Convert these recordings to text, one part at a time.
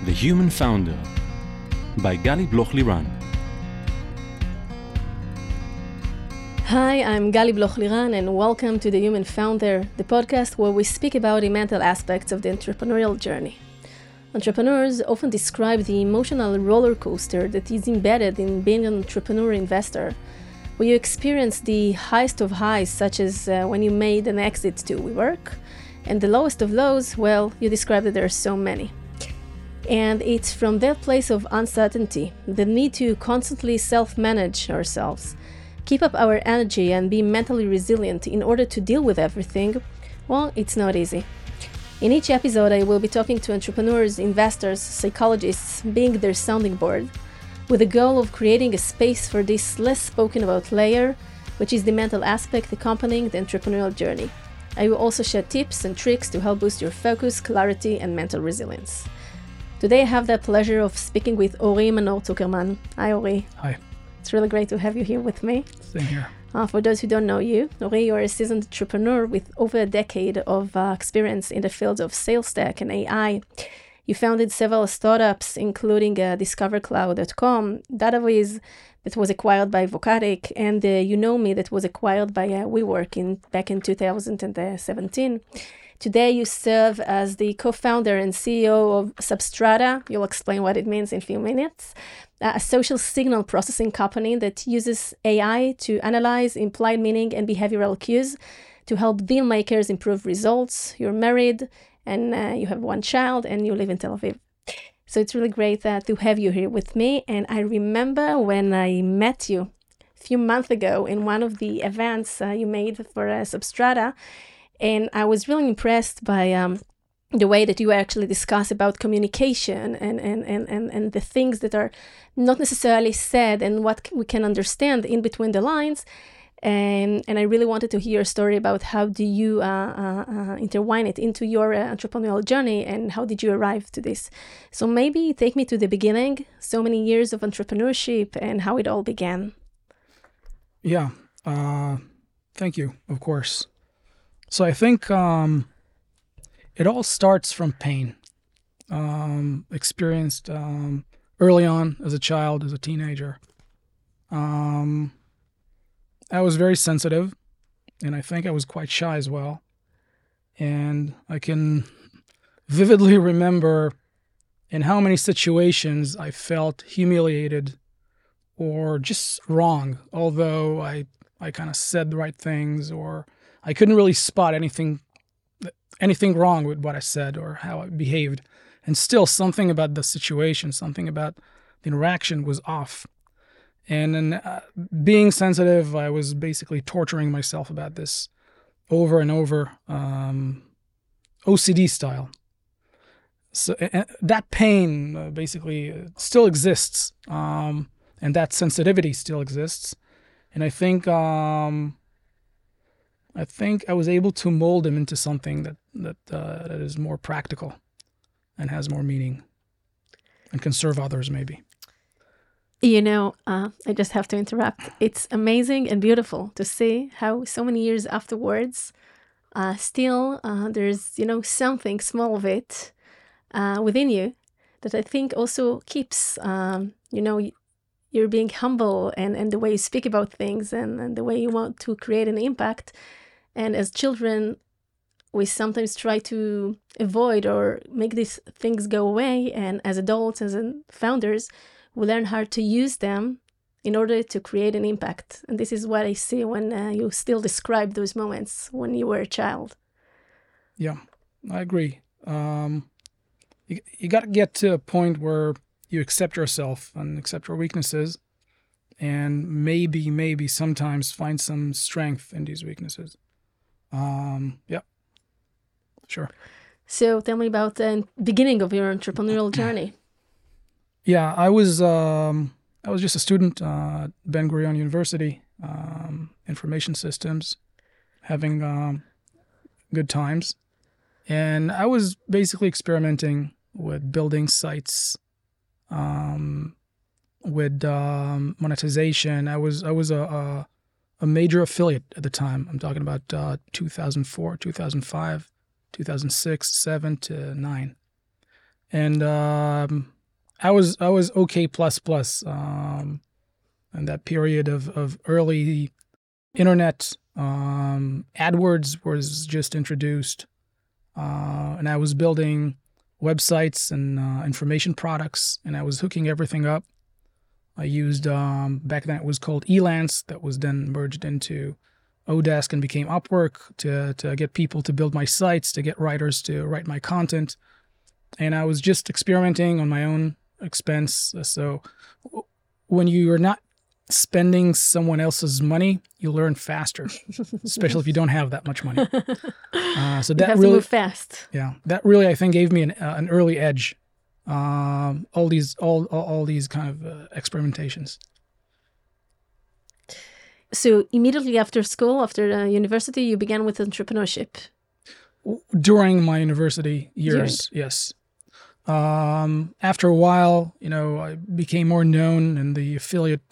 The Human Founder by Gali Bloch-Liran. Hi, I'm Gali Bloch-Liran and welcome to The Human Founder, the podcast where we speak about the mental aspects of the entrepreneurial journey. Entrepreneurs often describe the emotional roller coaster that is embedded in being an entrepreneur investor, where you experience the highest of highs, such as when you made an exit to WeWork, and the lowest of lows, well, you describe that there are so many. And it's from that place of uncertainty, the need to constantly self-manage ourselves, keep up our energy and be mentally resilient in order to deal with everything, well, it's not easy. In each episode, I will be talking to entrepreneurs, investors, psychologists, being their sounding board, with the goal of creating a space for this less spoken about layer, which is the mental aspect accompanying the entrepreneurial journey. I will also share tips and tricks to help boost your focus, clarity, and mental resilience. Today I have the pleasure of speaking with Ori Manor Zuckerman. Hi, Ori. Hi. It's really great to have you here with me. Same here. For those who don't know you, Ori, you're a seasoned entrepreneur with over a decade of experience in the fields of sales tech and AI. You founded several startups, including DiscoverCloud.com, Dataviz, that was acquired by Vocadic, and YouKnowMe, that was acquired by WeWork back in 2017. Today, you serve as the co-founder and CEO of Substrata. You'll explain what it means in a few minutes. A social signal processing company that uses AI to analyze implied meaning and behavioral cues to help deal makers improve results. You're married and you have one child and you live in Tel Aviv. So it's really great to have you here with me. And I remember when I met you a few months ago in one of the events you made for Substrata. And I was really impressed by the way that you actually discuss about communication and the things that are not necessarily said and what we can understand in between the lines. And I really wanted to hear a story about how do you intertwine it into your entrepreneurial journey and how did you arrive to this. So maybe take me to the beginning, so many years of entrepreneurship and how it all began. Yeah, thank you, of course. So I think it all starts from pain, experienced early on as a child, as a teenager. I was very sensitive, and I think I was quite shy as well. And I can vividly remember in how many situations I felt humiliated or just wrong, although I kind of said the right things, or I couldn't really spot anything wrong with what I said or how I behaved. And still something about the situation, something about the interaction was off. And then being sensitive, I was basically torturing myself about this over and over, OCD style. So that pain basically still exists, and that sensitivity still exists. And I think I was able to mold him into something that is more practical and has more meaning and can serve others maybe. You know, I just have to interrupt. It's amazing and beautiful to see how so many years afterwards, still there's, something small of it within you that I think also keeps, you're being humble and the way you speak about things and the way you want to create an impact. And as children, we sometimes try to avoid or make these things go away. And as adults, as founders, we learn how to use them in order to create an impact. And this is what I see when you still describe those moments when you were a child. Yeah, I agree. You got to get to a point where you accept yourself and accept your weaknesses and maybe sometimes find some strength in these weaknesses. Yeah, sure. So tell me about the beginning of your entrepreneurial journey. Yeah, I was just a student at Ben Gurion University, information systems, having good times. And I was basically experimenting with building sites, with monetization. I was a major affiliate at the time. I'm talking about 2004, 2005, 2006, 7 to 9. And I was OK++. In that period of early internet, AdWords was just introduced, and I was building websites and information products, and I was hooking everything up. I used, back then it was called Elance, that was then merged into Odesk and became Upwork to get people to build my sites, to get writers to write my content. And I was just experimenting on my own expense. So when you are not spending someone else's money, you learn faster, especially if you don't have that much money. So that you have really to move fast. Yeah, that really I think gave me an early edge. All these kind of experimentations. So immediately after school, after university, you began with entrepreneurship. During my university years, yes. After a while, I became more known in the affiliate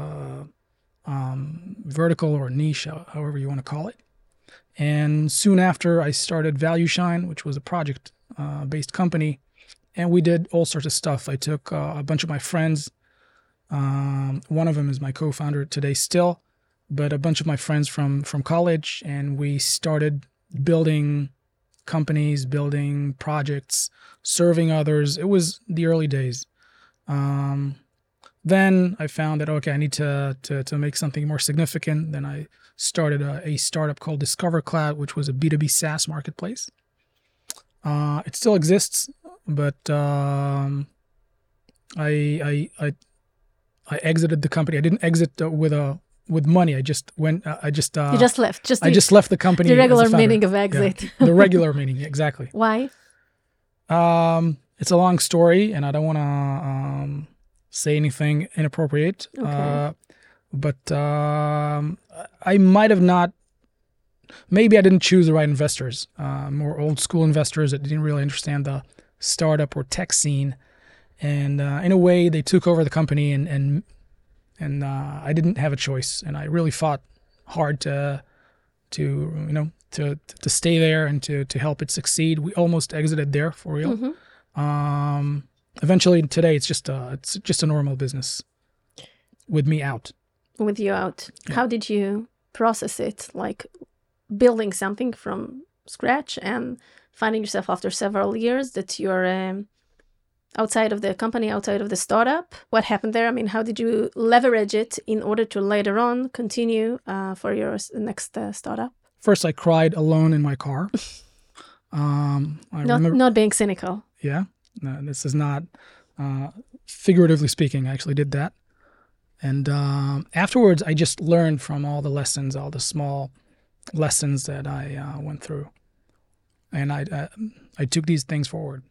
vertical or niche, however you want to call it. And soon after, I started ValueShine, which was a project-based company, and we did all sorts of stuff. I took a bunch of my friends. One of them is my co-founder today still, but a bunch of my friends from college, and we started building companies, building projects, serving others. It was the early days. Then I found that, okay, I need to make something more significant. Then I started a startup called Discover Cloud, which was a B2B SaaS marketplace. It still exists, but I exited the company. I didn't exit with money. I just went. You just left. I just left the company. The regular meaning of exit. Yeah, the regular meaning, exactly. Why? It's a long story, and I don't want to say anything inappropriate. Okay. But I might have not. Maybe I didn't choose the right investors. More old school investors that didn't really understand the startup or tech scene, and in a way, they took over the company, and I didn't have a choice, and I really fought hard to stay there and to help it succeed. We almost exited there for real. Mm-hmm. Eventually, today it's just a normal business with me out. With you out. Yeah. How did you process it? Like building something from scratch and finding yourself after several years that you're outside of the company, outside of the startup. What happened there? I mean, how did you leverage it in order to later on continue for your next startup? First, I cried alone in my car. Not being cynical. Yeah, no, this is not figuratively speaking. I actually did that. And afterwards, I just learned from all the lessons, all the small lessons that I went through. And I took these things forward.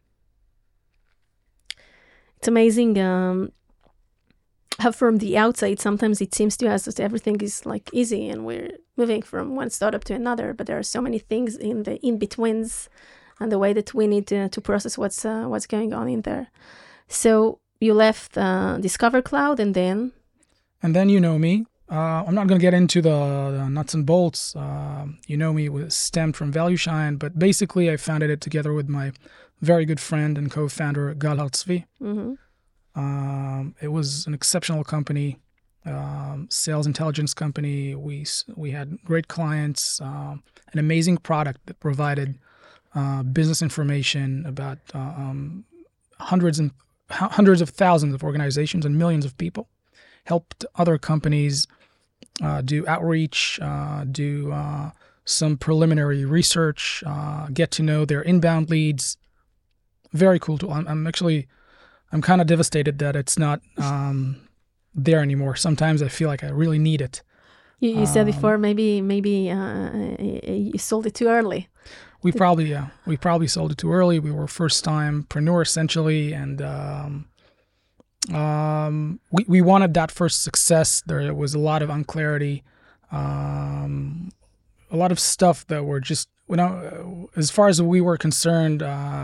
It's amazing how from the outside, sometimes it seems to us that everything is like easy and we're moving from one startup to another, but there are so many things in the in-betweens and the way that we need to process what's going on in there. So you left Discover Cloud and then? And then you know me. I'm not going to get into the nuts and bolts. You know me, it was stemmed from ValueShine, but basically I founded it together with my very good friend and co-founder, Gal Hartzvi. Mm-hmm. It was an exceptional company, sales intelligence company. We had great clients, an amazing product that provided business information about hundreds of thousands of organizations and millions of people. Helped other companies do outreach, do some preliminary research, get to know their inbound leads. Very cool tool. I'm kind of devastated that it's not there anymore. Sometimes I feel like I really need it. You said before maybe you sold it too early. We probably sold it too early. We were first-timepreneur essentially, and we wanted that first success. There was a lot of unclarity, a lot of stuff that were just, as far as we were concerned,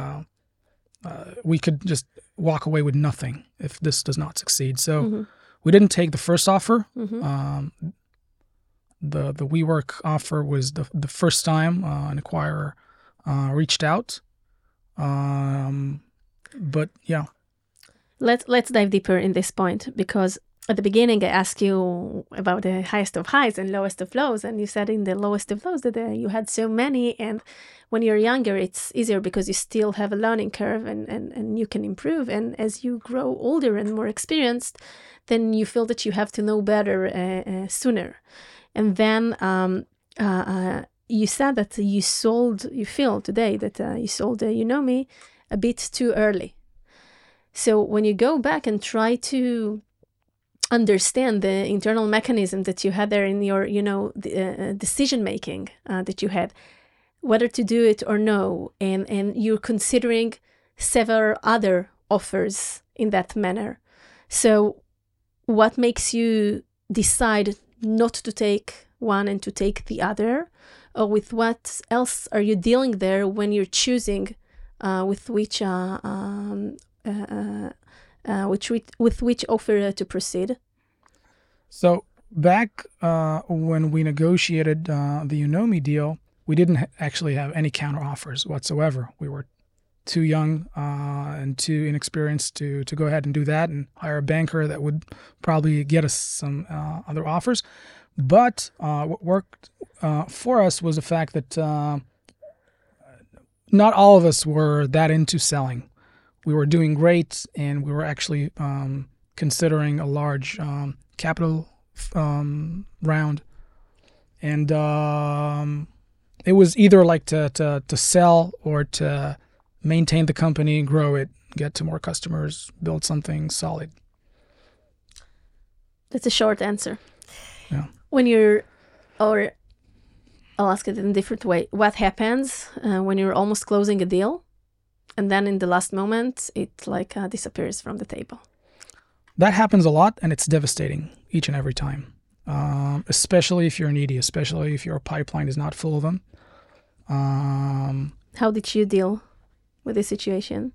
we could just walk away with nothing if this does not succeed. So mm-hmm. we didn't take the first offer. Mm-hmm. The WeWork offer was the first time an acquirer reached out. But yeah. Let's dive deeper in this point, because at the beginning I asked you about the highest of highs and lowest of lows, and you said in the lowest of lows that you had so many, and when you're younger it's easier because you still have a learning curve and you can improve, and as you grow older and more experienced, then you feel that you have to know better sooner. And then you said that you feel today that you sold Unomi a bit too early. So when you go back and try to understand the internal mechanism that you had there in your, decision making that you had, whether to do it or no, and you're considering several other offers in that manner. So what makes you decide not to take one and to take the other? Or with what else are you dealing there when you're choosing with which offer to proceed? So back when we negotiated the Unomi deal, we didn't actually have any counter offers whatsoever. We were too young and too inexperienced to go ahead and do that and hire a banker that would probably get us some other offers. But what worked for us was the fact that not all of us were that into selling. We were doing great, and we were actually considering a large capital round. And it was either like to sell or to maintain the company, grow it, get to more customers, build something solid. That's a short answer. Yeah. Or I'll ask it in a different way. What happens when you're almost closing a deal, and then in the last moment, it disappears from the table? That happens a lot, and it's devastating each and every time, especially if you're needy, especially if your pipeline is not full of them. How did you deal with this situation?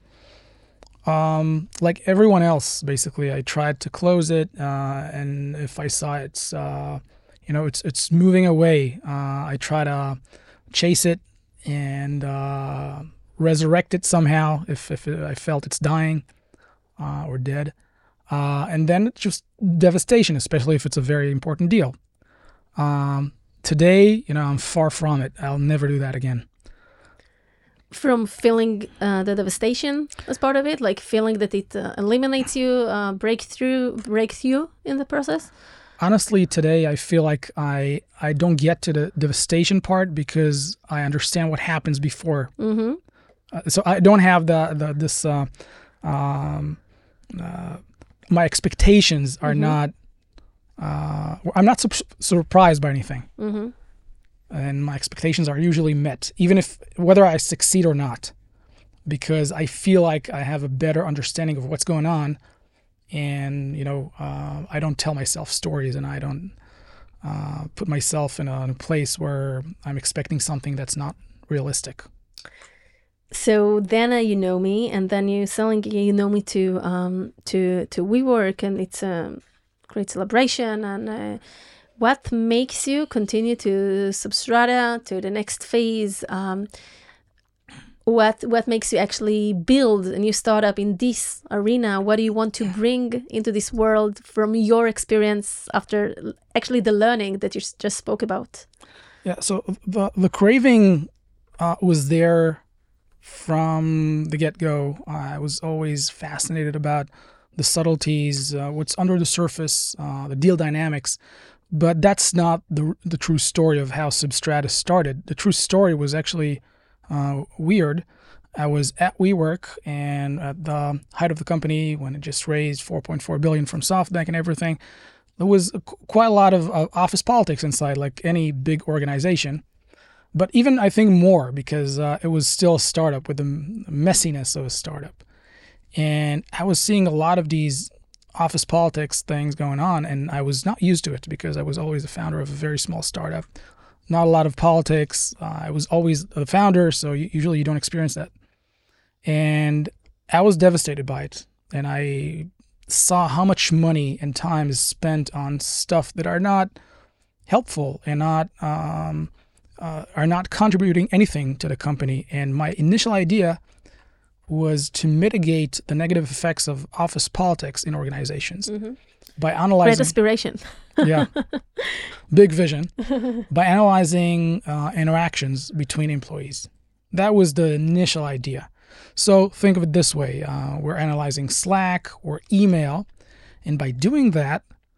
Like everyone else, basically, I tried to close it, and if I saw it's moving away, I try to chase it and resurrect it somehow if I felt it's dying or dead. And then it's just devastation, especially if it's a very important deal. Today, I'm far from it. I'll never do that again. From feeling the devastation as part of it, like feeling that it eliminates you, breaks you in the process? Honestly, today I feel like I don't get to the devastation part because I understand what happens before. Mm-hmm. So I don't have my expectations are not. I'm not surprised by anything. Mm-hmm. And my expectations are usually met, even whether I succeed or not, because I feel like I have a better understanding of what's going on, and I don't tell myself stories, and I don't put myself in a place where I'm expecting something that's not realistic. So then Unomi, and then you're selling Unomi to WeWork, and it's a great celebration. And what makes you continue to Substrata, to the next phase? What makes you actually build a new startup in this arena? What do you want to bring into this world from your experience after actually the learning that you just spoke about? Yeah, so the craving was there from the get-go. I was always fascinated about the subtleties, what's under the surface, the deal dynamics. But that's not the true story of how Substrata started. The true story was actually weird. I was at WeWork, and at the height of the company, when it just raised $4.4 billion from SoftBank and everything, there was quite a lot of office politics inside, like any big organization. But even, I think, more, because it was still a startup with the messiness of a startup. And I was seeing a lot of these office politics things going on, and I was not used to it because I was always the founder of a very small startup. Not a lot of politics. I was always the founder, so usually you don't experience that. And I was devastated by it. And I saw how much money and time is spent on stuff that are not helpful and are not contributing anything to the company. And my initial idea was to mitigate the negative effects of office politics in organizations by analyzing... Great aspiration. Yeah, big vision. By analyzing interactions between employees. That was the initial idea. So think of it this way. We're analyzing Slack or email, and by doing that,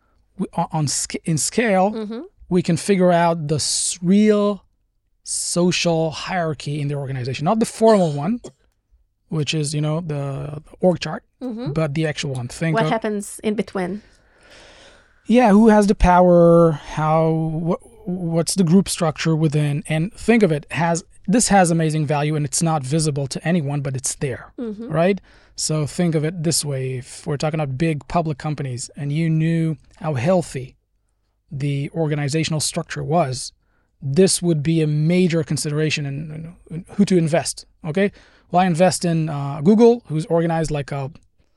in scale, we can figure out the real social hierarchy in the organization. Not the formal one, which is, the org chart, but the actual one. What happens in between? Yeah, who has the power, what's the group structure within, and think of it, this has amazing value and it's not visible to anyone, but it's there, right? So think of it this way. If we're talking about big public companies and you knew how healthy the organizational structure was, this would be a major consideration in who to invest, okay? Well, I invest in Google, who's organized like an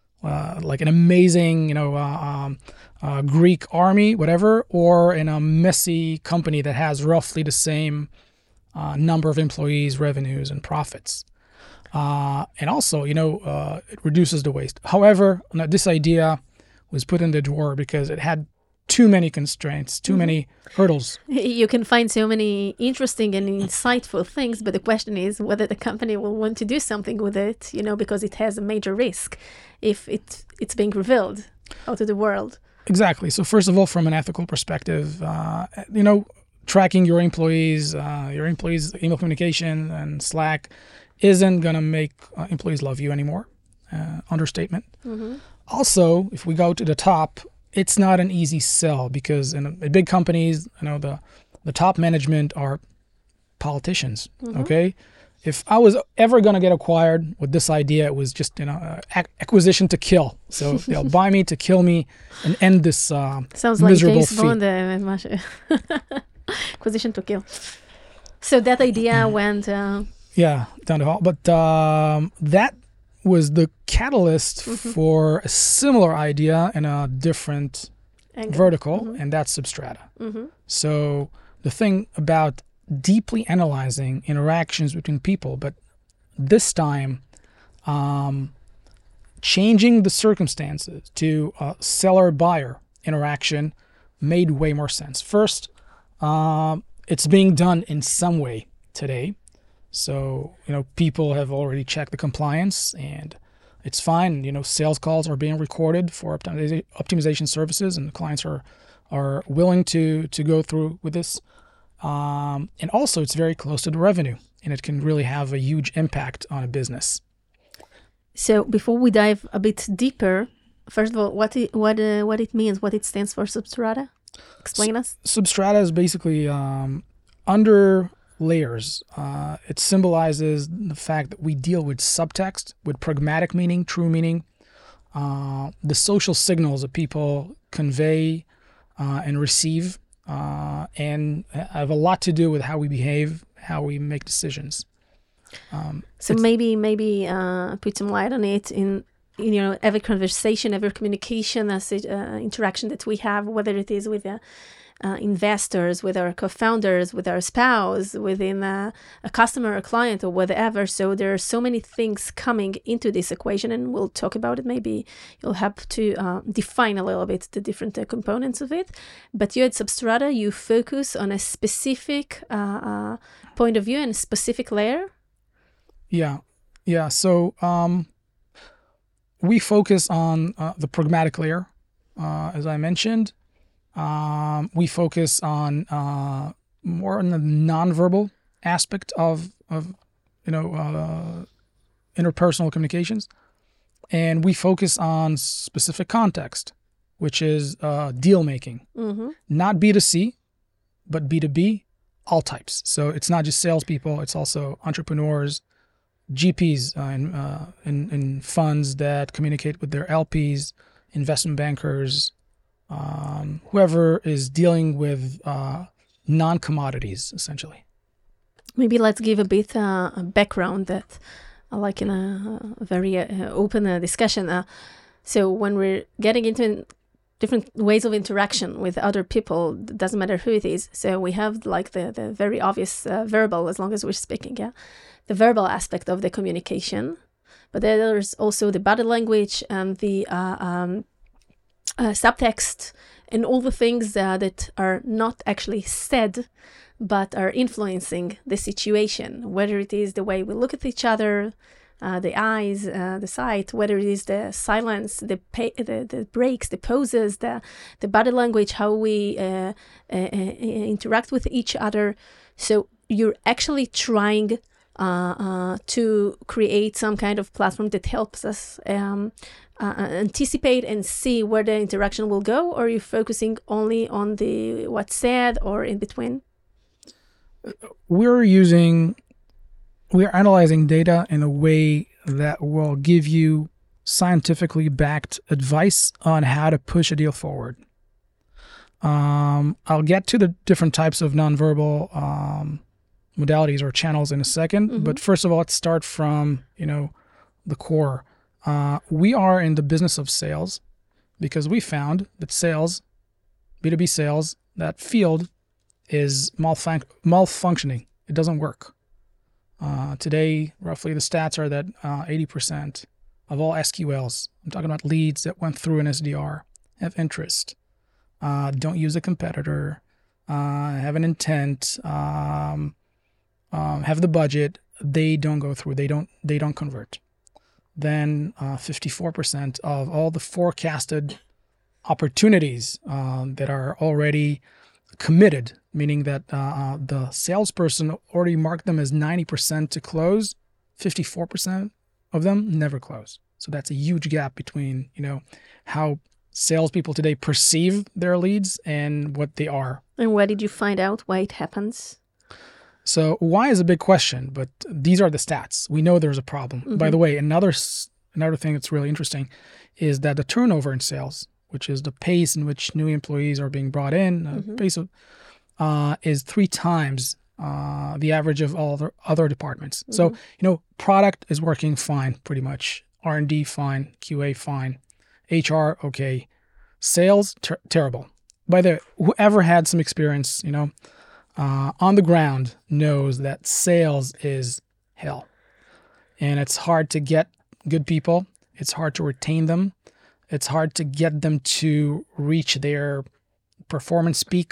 amazing, Greek army, whatever, or in a messy company that has roughly the same number of employees, revenues, and profits. And also, it reduces the waste. However, this idea was put in the drawer because it had too many constraints, too many hurdles. You can find so many interesting and insightful things, but the question is whether the company will want to do something with it, because it has a major risk if it's being revealed out to the world. Exactly. So first of all, from an ethical perspective, tracking your employees' email communication and Slack isn't going to make employees love you anymore. Understatement. Also, if we go to the top, it's not an easy sell because in big companies, the top management are politicians, okay? If I was ever going to get acquired with this idea, it was just, acquisition to kill. So they'll buy me to kill me and end this Sounds miserable like James Bond, acquisition to kill. So that idea went... Yeah, down the hall. But that was the catalyst for a similar idea in a different vertical, and that's Substrata. So the thing about deeply analyzing interactions between people, but this time changing the circumstances to a seller-buyer interaction made way more sense. First, it's being done in some way today. So, people have already checked the compliance and it's fine. Sales calls are being recorded for optimization services and the clients are willing to go through with this. And also it's very close to the revenue and it can really have a huge impact on a business. So before we dive a bit deeper, first of all, what it means, what it stands for, Substrata? Explain us. Substrata is basically under layers. It symbolizes the fact that we deal with subtext, with pragmatic meaning, true meaning, the social signals that people convey and receive, and have a lot to do with how we behave, how we make decisions. So maybe put some light on it in every conversation, every communication, interaction that we have, whether it is with investors, with our co-founders, with our spouse, within a customer, a client, or whatever. So there are so many things coming into this equation, and we'll talk about it. Maybe you'll have to define a little bit the different components of it. But you at Substrata, you focus on a specific point of view and a specific layer. Yeah. So we focus on the pragmatic layer, as I mentioned. We focus on more on the nonverbal aspect of interpersonal communications, and we focus on specific context, which is deal making, not B2C, but B2B, all types. So it's not just salespeople; it's also entrepreneurs, GPs in funds that communicate with their LPs, investment bankers. Whoever is dealing with non-commodities, essentially. Maybe let's give a bit a background that, like in a very open discussion. So when we're getting into different ways of interaction with other people, it doesn't matter who it is. So we have like the very obvious verbal, as long as we're speaking, the verbal aspect of the communication. but there's also the body language and the subtext and all the things that are not actually said, but are influencing the situation, whether it is the way we look at each other, the eyes, the sight, whether it is the silence, the breaks, the poses, the body language, how we interact with each other. So you're actually trying to create some kind of platform that helps us anticipate and see where the interaction will go, or are you focusing only on the what's said or in between? We're analyzing data in a way that will give you scientifically backed advice on how to push a deal forward. I'll get to the different types of nonverbal modalities or channels in a second, but first of all, let's start from the core. We are in the business of sales because we found that sales, B2B sales, that field is malfunctioning. It doesn't work. Today, roughly the stats are that 80% of all SQLs, I'm talking about leads that went through an SDR, have interest, don't use a competitor, have an intent, have the budget, they don't go through, they don't convert. Then 54% of all the forecasted opportunities that are already committed, meaning that the salesperson already marked them as 90% to close, 54% of them never close. So that's a huge gap between, how salespeople today perceive their leads and what they are. And where did you find out why it happens? So why is a big question, but these are the stats. We know there's a problem. By the way, another thing that's really interesting is that the turnover in sales, which is the pace in which new employees are being brought in, pace of, is 3 times the average of all the other departments. So, product is working fine, pretty much. R&D fine, QA fine, HR okay, sales terrible. By the way, whoever had some experience, on the ground knows that sales is hell, and it's hard to get good people. It's hard to retain them. It's hard to get them to reach their performance peak.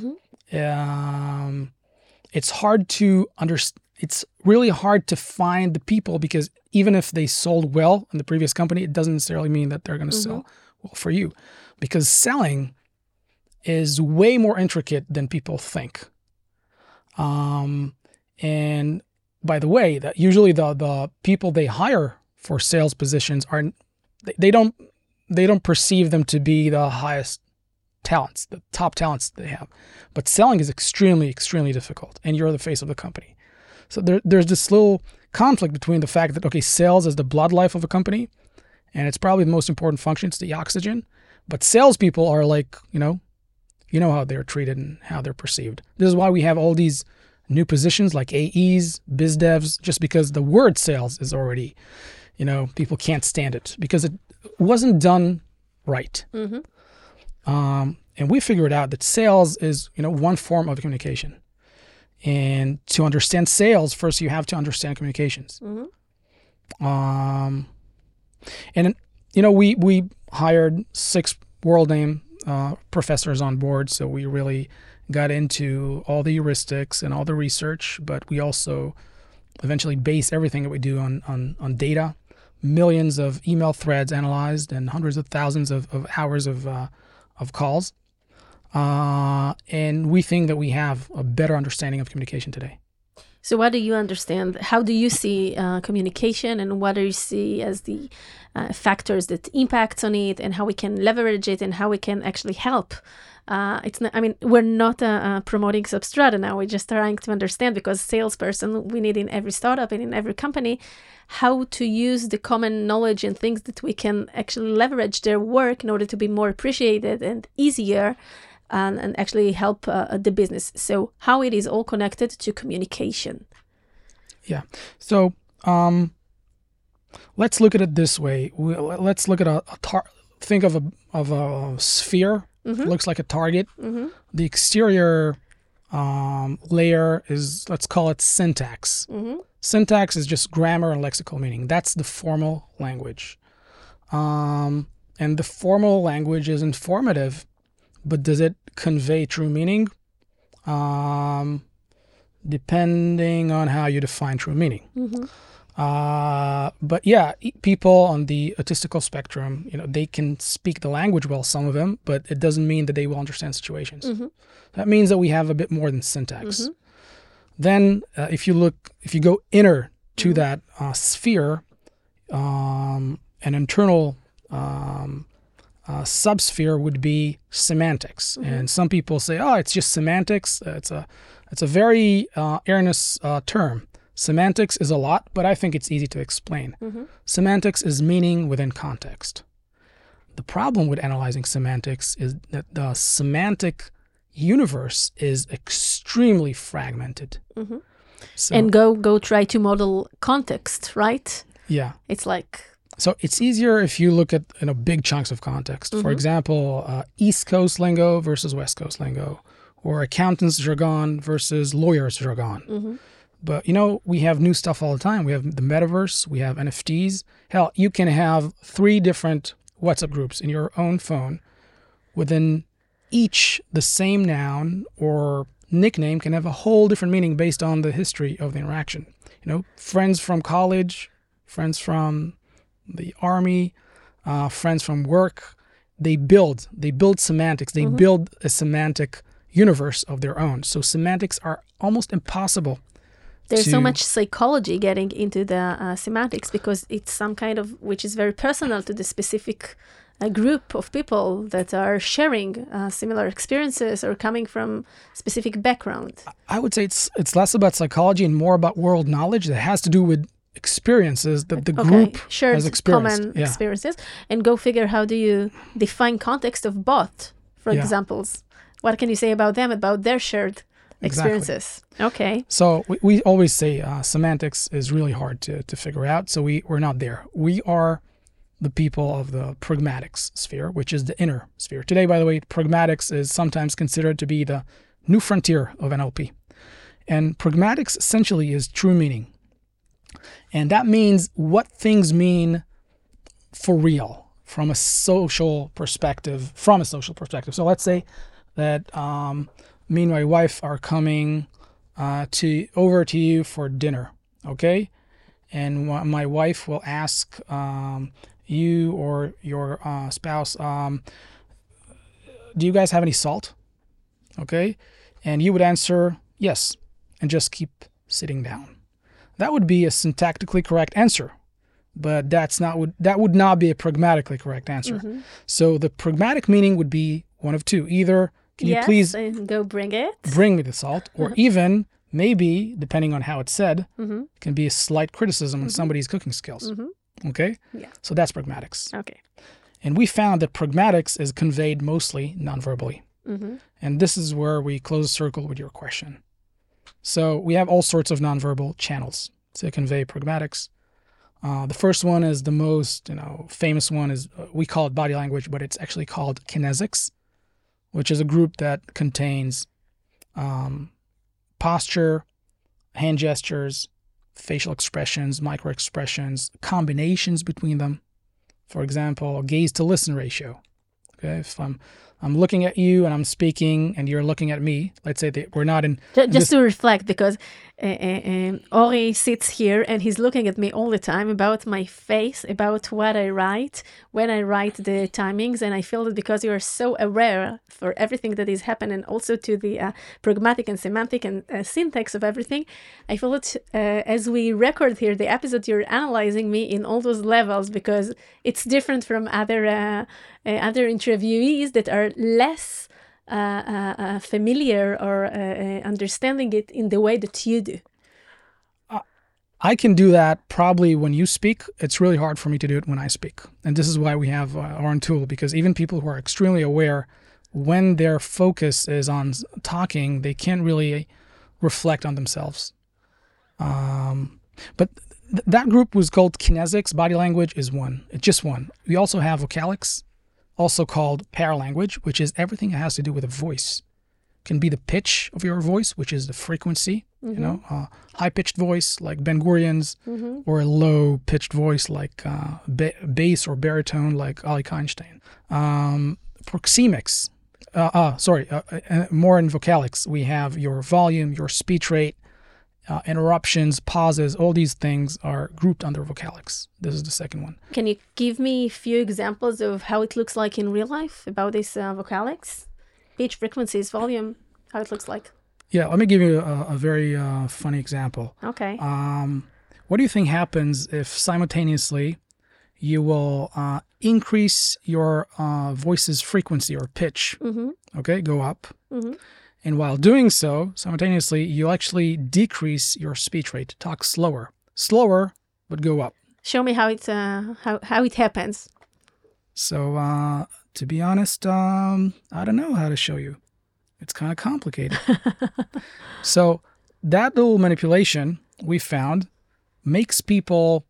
It's hard to it's really hard to find the people, because even if they sold well in the previous company, it doesn't necessarily mean that they're going to sell well for you, because selling is way more intricate than people think. And by the way, that usually the people they hire for sales positions they don't perceive them to be the highest talents, the top talents they have. But selling is extremely, extremely difficult, and you're the face of the company. So there's this little conflict between the fact that, okay, sales is the blood life of a company, and it's probably the most important function, it's the oxygen. But salespeople are like, you know how they're treated and how they're perceived. This is why we have all these new positions like AEs, biz devs, just because the word sales is already, people can't stand it because it wasn't done right. And we figured out that sales is, one form of communication. And to understand sales, first you have to understand communications. And, we hired 6 world name professors on board, so we really got into all the heuristics and all the research, but we also eventually base everything that we do on data, millions of email threads analyzed and hundreds of thousands of hours of calls. And we think that we have a better understanding of communication today. So what do you understand? How do you see communication, and what do you see as the factors that impact on it, and how we can leverage it, and how we can actually help? We're not promoting Substrata now. We're just trying to understand, because salesperson we need in every startup and in every company, how to use the common knowledge and things that we can actually leverage their work in order to be more appreciated and easier, and actually help the business. So how it is all connected to communication. Yeah. So let's look at it this way. Let's look at think of a sphere. It looks like a target. The exterior layer is, let's call it syntax. Syntax is just grammar and lexical meaning. That's the formal language. And the formal language is informative, but does it convey true meaning? Depending on how you define true meaning. But yeah, people on the autistical spectrum, they can speak the language well, some of them, but it doesn't mean that they will understand situations. That means that we have a bit more than syntax. Then if you go inner to that sphere, an internal subsphere would be semantics. And some people say, oh, it's just semantics. It's a very erroneous term. Semantics is a lot, but I think it's easy to explain. Semantics is meaning within context. The problem with analyzing semantics is that the semantic universe is extremely fragmented. So, and go try to model context, right? Yeah. It's like... So it's easier if you look at big chunks of context. For example, East Coast lingo versus West Coast lingo, or accountants jargon versus lawyers jargon. But, we have new stuff all the time. We have the metaverse. We have NFTs. Hell, you can have 3 different WhatsApp groups in your own phone. Within each, the same noun or nickname can have a whole different meaning based on the history of the interaction. Friends from college, friends from the army, friends from work. They build semantics. They build a semantic universe of their own. So semantics are almost impossible. There's so much psychology getting into the semantics because it's some kind of, which is very personal to the specific group of people that are sharing similar experiences or coming from specific background. I would say it's less about psychology and more about world knowledge that has to do with experiences that the group has experienced. Common experiences. And go figure, how do you define context of both, for examples? What can you say about them, about their shared experiences? Okay. So we always say semantics is really hard to figure out. So we're not there. We are the people of the pragmatics sphere, which is the inner sphere. Today, by the way, pragmatics is sometimes considered to be the new frontier of NLP. And pragmatics essentially is true meaning. And that means what things mean for real from a social perspective. So let's say that me and my wife are coming over to you for dinner, okay? And my wife will ask you or your spouse, do you guys have any salt? Okay? And you would answer yes, and just keep sitting down. That would be a syntactically correct answer, but that would not be a pragmatically correct answer. So the pragmatic meaning would be one of two. Either, can you please go bring me the salt, or even maybe, depending on how it's said, it can be a slight criticism on somebody's cooking skills. Okay? Yeah. So that's pragmatics. Okay. And we found that pragmatics is conveyed mostly non-verbally. And this is where we close the circle with your question. So we have all sorts of non-verbal channels to convey pragmatics. The first one is the most famous one, is we call it body language, but it's actually called kinesics, which is a group that contains posture, hand gestures, facial expressions, micro expressions, combinations between them. For example, gaze to listen ratio. Okay, if I'm looking at you and I'm speaking and you're looking at me, let's say that we're not in... Just to reflect, because Ori sits here and he's looking at me all the time about my face, about what I write, when I write the timings, and I feel that because you are so aware for everything that is happening, also to the pragmatic and semantic and syntax of everything, I feel that as we record here the episode, you're analyzing me in all those levels, because it's different from other interviewees that are less familiar or understanding it in the way that you do. I can do that probably when you speak. It's really hard for me to do it when I speak. And this is why we have our own tool, because even people who are extremely aware, when their focus is on talking, they can't really reflect on themselves. But that group was called kinesics. Body language is one. It's just one. We also have vocalics, also called paralanguage, which is everything that has to do with a voice. can be the pitch of your voice, which is the frequency, high-pitched voice like Ben Gurion's, or a low-pitched voice like bass or baritone like Ali Einstein. Proxemics, more in vocalics, we have your volume, your speech rate, interruptions, pauses, all these things are grouped under vocalics. This is the second one. Can you give me a few examples of how it looks like in real life about these vocalics? Pitch, frequencies, volume, how it looks like? Yeah, let me give you a very funny example. Okay. What do you think happens if simultaneously you will increase your voice's frequency or pitch, okay, go up. And while doing so, simultaneously, you actually decrease your speech rate, talk slower, but go up. Show me how it happens. So, to be honest, I don't know how to show you. It's kind of complicated. So that little manipulation we found makes people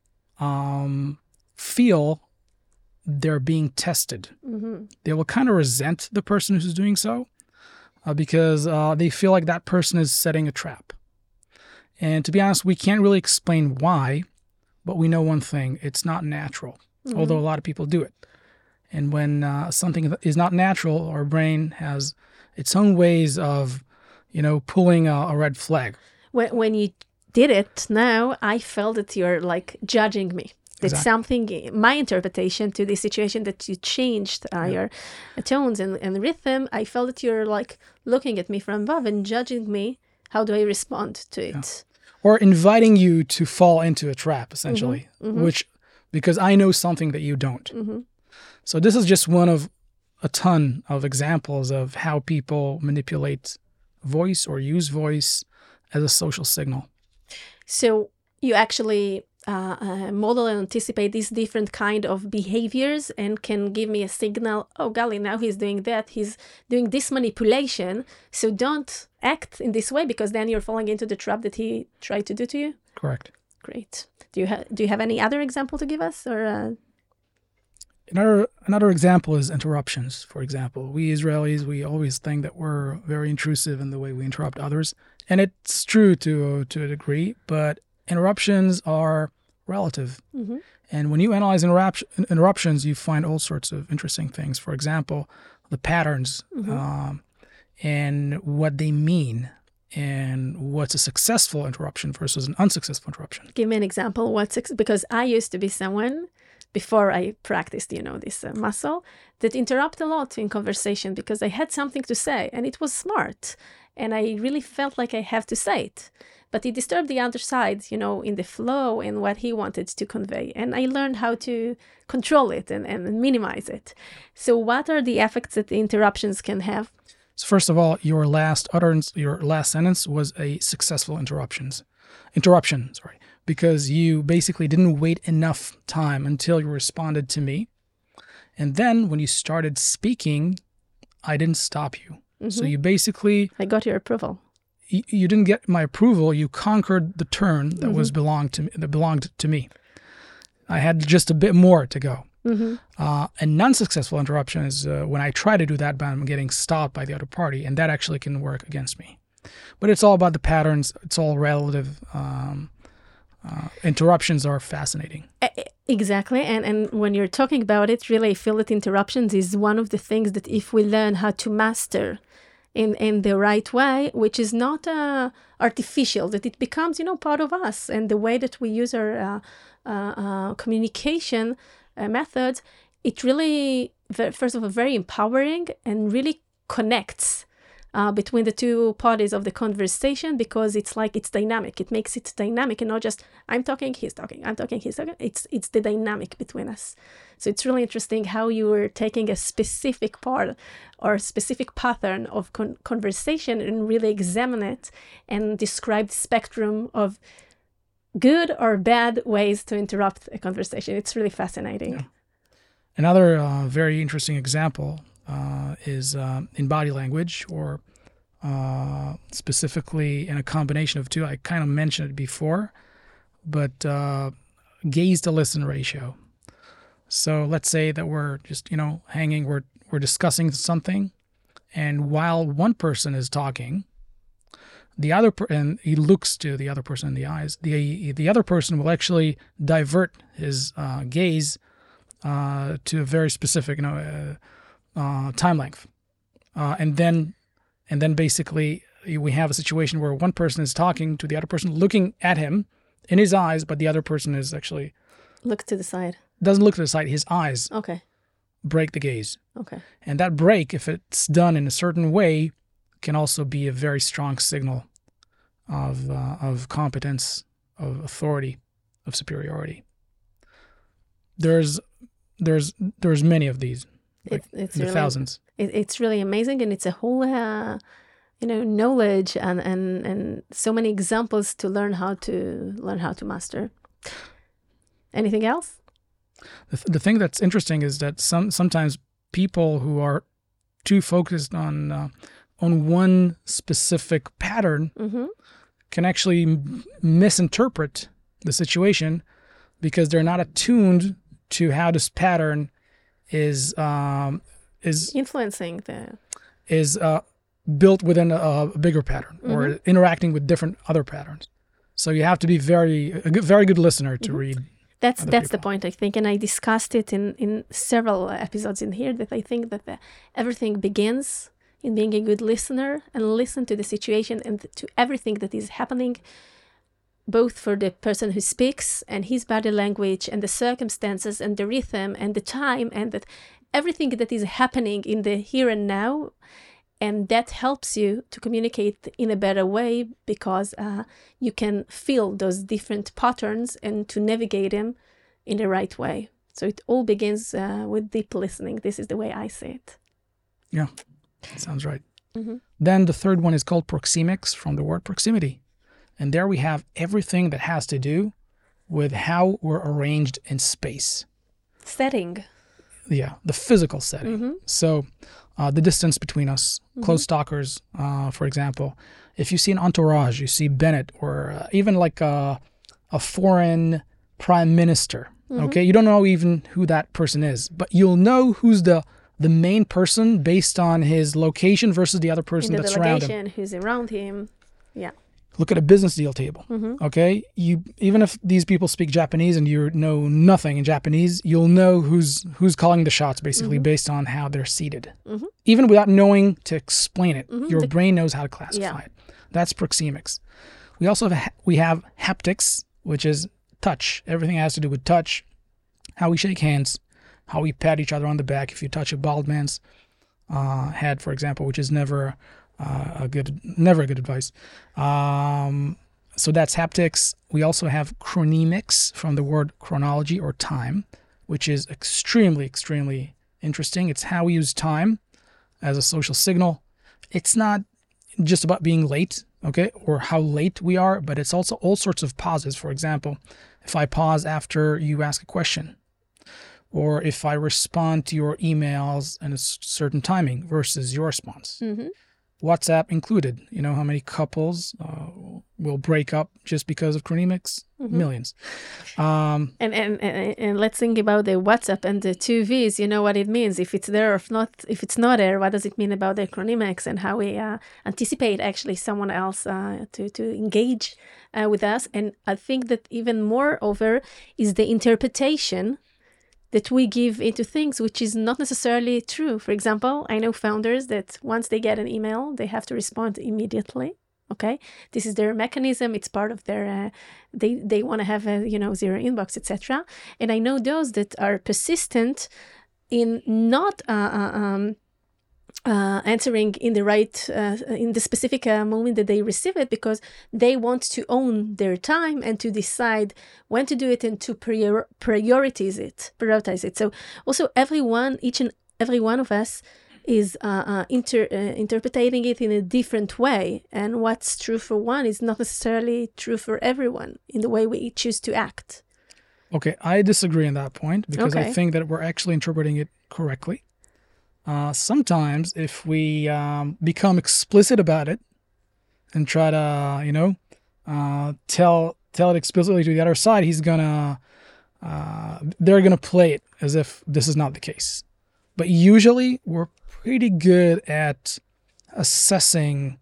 feel they're being tested. They will kind of resent the person who's doing so because they feel like that person is setting a trap. And to be honest, we can't really explain why, but we know one thing. It's not natural, although a lot of people do it. And when something is not natural, our brain has its own ways of, pulling a red flag. When you did it now, I felt that you're like judging me. That something, my interpretation to the situation that you changed your tones and rhythm, I felt that you're like looking at me from above and judging me. How do I respond to it? Yeah. Or inviting you to fall into a trap, essentially, which because I know something that you don't. So this is just one of a ton of examples of how people manipulate voice or use voice as a social signal. So you actually model and anticipate these different kind of behaviors and can give me a signal, oh golly, now he's doing that, he's doing this manipulation, so don't act in this way because then you're falling into the trap that he tried to do to you? Correct. Great. Do you have any other example to give us? Or Another example is interruptions, for example. We Israelis, we always think that we're very intrusive in the way we interrupt others. And it's true to a degree, but interruptions are relative. And when you analyze interruptions, you find all sorts of interesting things. For example, the patterns and what they mean and what's a successful interruption versus an unsuccessful interruption. Give me an example. Because I used to be someone, before I practiced, this muscle, that interrupt a lot in conversation because I had something to say and it was smart. And I really felt like I have to say it. But it disturbed the other side, in the flow and what he wanted to convey. And I learned how to control it and minimize it. So what are the effects that the interruptions can have? So first of all, your last sentence was a successful interruption, because you basically didn't wait enough time until you responded to me. And then when you started speaking, I didn't stop you. So you basically... I got your approval. You didn't get my approval. You conquered the turn that belonged to me. I had just a bit more to go. A non-successful interruption is when I try to do that, but I'm getting stopped by the other party, and that actually can work against me. But it's all about the patterns. It's all relative. Interruptions are fascinating. Exactly. And when you're talking about it, really, I feel that interruptions is one of the things that if we learn how to master in the right way, which is not artificial, that it becomes, part of us. And the way that we use our communication methods, it really, first of all, very empowering and really connects between the two parties of the conversation, because it's dynamic. It makes it dynamic and not just I'm talking, he's talking, I'm talking, he's talking. It's the dynamic between us. So it's really interesting how you were taking a specific part or specific pattern of conversation and really examine it and describe the spectrum of good or bad ways to interrupt a conversation. It's really fascinating. Yeah. Another very interesting example is in body language, or specifically in a combination of two. I kind of mentioned it before, but gaze to listen ratio. So let's say that we're just, hanging, we're discussing something, And while one person is talking, and he looks to the other person in the eyes, the other person will actually divert his gaze to a very specific time length, and then basically we have a situation where one person is talking to the other person, looking at him in his eyes, but the other person is actually Look to the side. doesn't look to the side. His eyes Okay. break the gaze. Okay. And that break, if it's done in a certain way, can also be a very strong signal of competence, of authority, of superiority. There's many of these, like It's in the really, thousands. It's really amazing, and it's a whole knowledge and so many examples to learn how to master. Anything else? The thing that's interesting is that sometimes people who are too focused on one specific pattern Mm-hmm. can actually misinterpret the situation because they're not attuned to how this pattern is Influencing the. built within a bigger pattern or Mm-hmm. interacting with different other patterns. So you have to be a very good listener to read. That's other the people. point, I think, and I discussed it in several episodes in here, that I think that everything begins in being a good listener and listen to the situation and to everything that is happening, both for the person who speaks and his body language and the circumstances and the rhythm and the time and that everything that is happening in the here and now. And that helps you to communicate in a better way because you can feel those different patterns and to navigate them in the right way. So it all begins with deep listening. This is the way I see it. Yeah, sounds right. Mm-hmm. Then the third one is called proxemics, from the word proximity. And there we have everything that has to do with how we're arranged in space. Setting. Yeah, the physical setting. Mm-hmm. So the distance between us, close stalkers, for example. If you see an entourage, you see Bennett, or even like a foreign prime minister, okay? You don't know even who that person is, but you'll know who's the main person based on his location versus the other person In the that's around him. delegation, who's around him. Yeah. Look at a business deal table, okay? Even if these people speak Japanese and you know nothing in Japanese, you'll know who's calling the shots, basically, based on how they're seated. Even without knowing to explain it, your brain knows how to classify it. That's proxemics. We also have haptics, which is touch. Everything has to do with touch, how we shake hands, how we pat each other on the back. If you touch a bald man's head, for example, which is never a good advice. So that's haptics. We also have chronemics, from the word chronology or time, which is extremely, extremely interesting. It's how we use time as a social signal. It's not just about being late, okay, or how late we are, but it's also all sorts of pauses. For example, if I pause after you ask a question, or if I respond to your emails in a certain timing versus your response. WhatsApp included. You know how many couples will break up just because of chronemics? Millions. And let's think about the WhatsApp and the two V's. You know what it means. If it's there or if it's not there, what does it mean about the chronemics and how we anticipate actually someone else to engage with us? And I think that even moreover is the interpretation that we give into things, which is not necessarily true. For example, I know founders that once they get an email, they have to respond immediately. Okay, this is their mechanism. It's part of their. They want to have a zero inbox, etc. And I know those that are persistent in not answering in the right in the specific moment that they receive it, because they want to own their time and to decide when to do it and to prioritize it. So also each and every one of us is interpreting it in a different way, and what's true for one is not necessarily true for everyone in the way we choose to act. Okay, I disagree on that point because I Okay. think that we're actually interpreting it correctly. Sometimes if we become explicit about it and try to, tell it explicitly to the other side, they're gonna play it as if this is not the case. But usually we're pretty good at assessing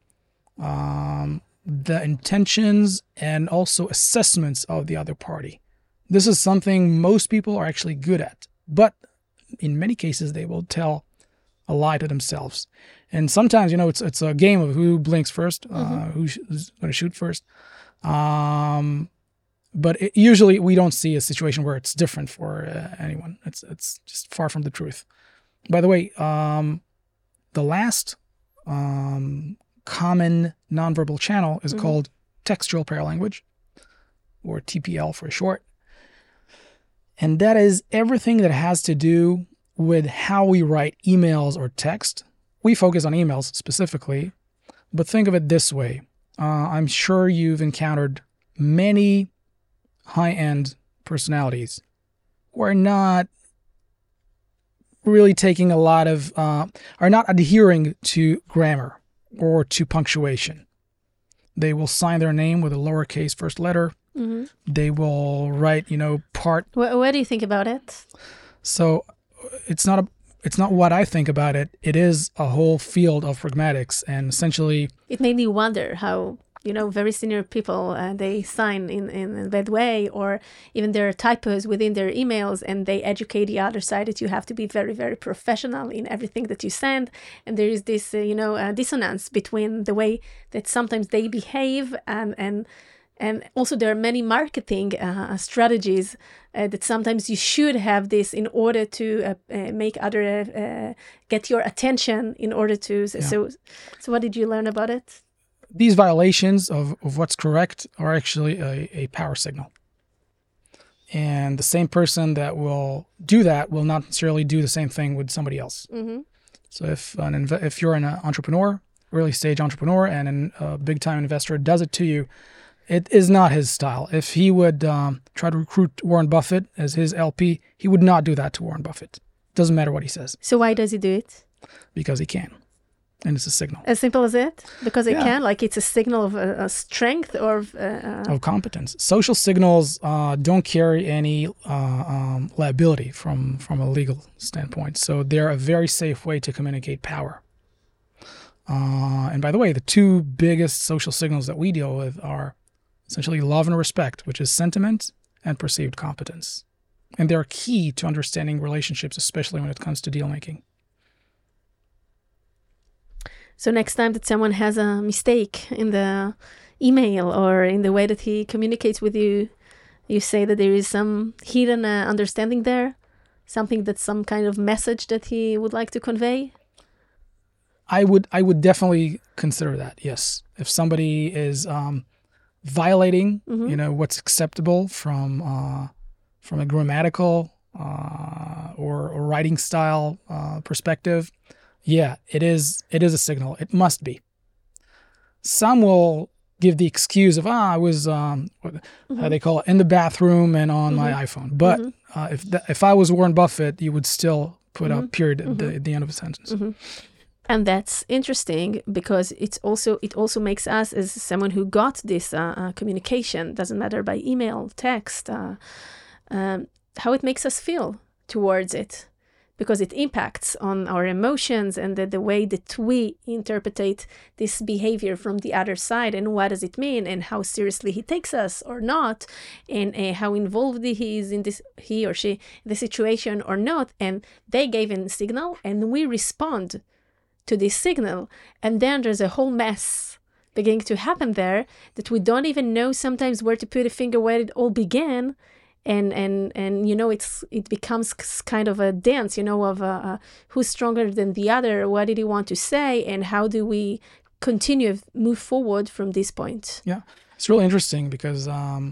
the intentions and also assessments of the other party. This is something most people are actually good at. But in many cases, they will tell a lie to themselves. And sometimes, it's a game of who blinks first, who's going to shoot first. But usually we don't see a situation where it's different for anyone. It's just far from the truth. By the way, the last common nonverbal channel is called textual paralanguage, or TPL for short. And that is everything that has to do with how we write emails or text. We focus on emails specifically, but think of it this way. I'm sure you've encountered many high-end personalities who are not really taking a lot of, are not adhering to grammar or to punctuation. They will sign their name with a lowercase first letter. Mm-hmm. They will write, part. What do you think about it? So it's not what I think about it. It is a whole field of pragmatics, and essentially it made me wonder how very senior people they sign in that way, or even there are typos within their emails, and they educate the other side that you have to be very, very professional in everything that you send. And there is this dissonance between the way that sometimes they behave and also there are many marketing strategies that sometimes you should have this in order to make other get your attention in order to. Yeah. So what did you learn about it? These violations of what's correct are actually a power signal. And the same person that will do that will not necessarily do the same thing with somebody else. Mm-hmm. So if you're an entrepreneur, early stage entrepreneur, and a big time investor does it to you, it is not his style. If he would try to recruit Warren Buffett as his LP, he would not do that to Warren Buffett. Doesn't matter what he says. So why does he do it? Because he can. And it's a signal. As simple as it? Because it can? Like it's a signal of a strength or of competence. Social signals don't carry any liability from a legal standpoint. So they're a very safe way to communicate power. And by the way, the two biggest social signals that we deal with are essentially love and respect, which is sentiment, and perceived competence. And they're key to understanding relationships, especially when it comes to deal making. So next time that someone has a mistake in the email or in the way that he communicates with you, you say that there is some hidden understanding there, something that's some kind of message that he would like to convey? I would definitely consider that, yes. If somebody is violating, what's acceptable from a grammatical or writing style perspective, yeah, it is a signal. It must be. Some will give the excuse of, I was, how they call it, in the bathroom and on my iPhone. But if I was Warren Buffett, you would still put a period at the end of a sentence. Mm-hmm. And that's interesting because it also makes us, as someone who got this communication, doesn't matter by email, text, how it makes us feel towards it. Because it impacts on our emotions and the way that we interpret this behavior from the other side, and what does it mean, and how seriously he takes us or not, and how involved he is in this, he or she, the situation or not. And they gave a signal, and we respond to this signal, and then there's a whole mess beginning to happen there that we don't even know sometimes where to put a finger where it all began. And it becomes kind of a dance, of who's stronger than the other, what did he want to say, and how do we move forward from this point? Yeah, it's really interesting because,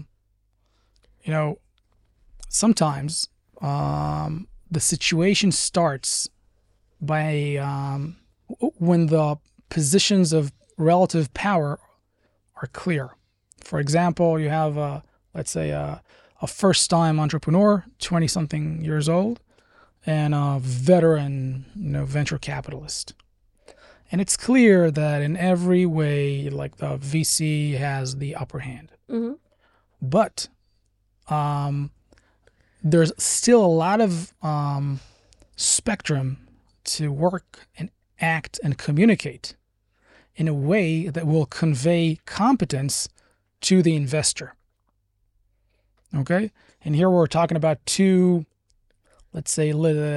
sometimes the situation starts by when the positions of relative power are clear. For example, you have, let's say, a first-time entrepreneur, 20-something years old, and a veteran, venture capitalist. And it's clear that in every way, like the VC has the upper hand. Mm-hmm. But there's still a lot of spectrum to work and act and communicate in a way that will convey competence to the investor. Okay? And here we're talking about two, let's say,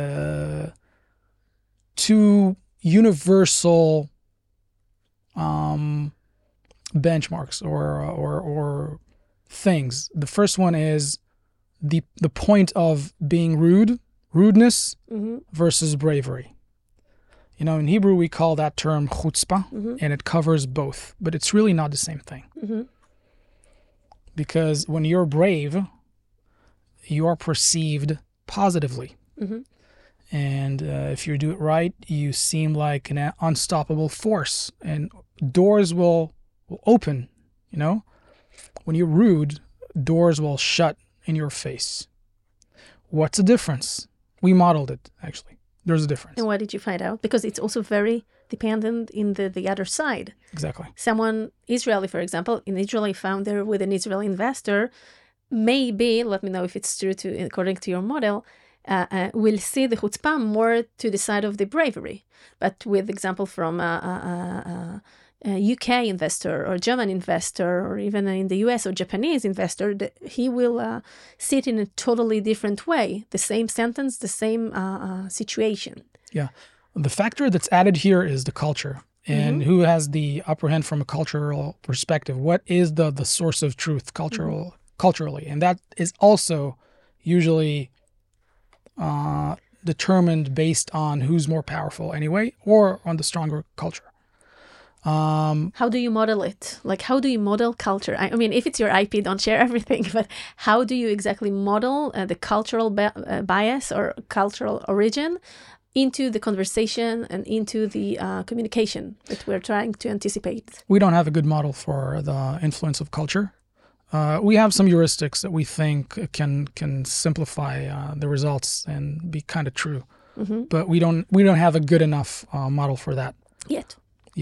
two universal benchmarks or things. The first one is the point of being rudeness versus bravery. You know, in Hebrew we call that term chutzpah, and it covers both, but it's really not the same thing. Because when you're brave, you are perceived positively. And if you do it right, you seem like an unstoppable force, and doors will open, you know? When you're rude, doors will shut in your face. What's the difference? We modeled it, actually. There's a difference. And what did you find out? Because it's also very dependent in the other side. Exactly. Someone, Israeli, for example, an Israeli founder with an Israeli investor, maybe, let me know if it's true according to your model, will see the chutzpah more to the side of the bravery. But with example from a UK investor or German investor or even in the US or Japanese investor, he will see it in a totally different way. The same sentence, the same situation. Yeah. The factor that's added here is the culture. And who has the upper hand from a cultural perspective? What is the source of truth culturally? And that is also usually determined based on who's more powerful anyway, or on the stronger culture. How do you model it? Like, how do you model culture? I mean, if it's your IP, don't share everything, but how do you exactly model the cultural bias or cultural origin into the conversation and into the communication that we're trying to anticipate? We don't have a good model for the influence of culture. We have some heuristics that we think can simplify the results and be kind of true, but we don't have a good enough model for that yet.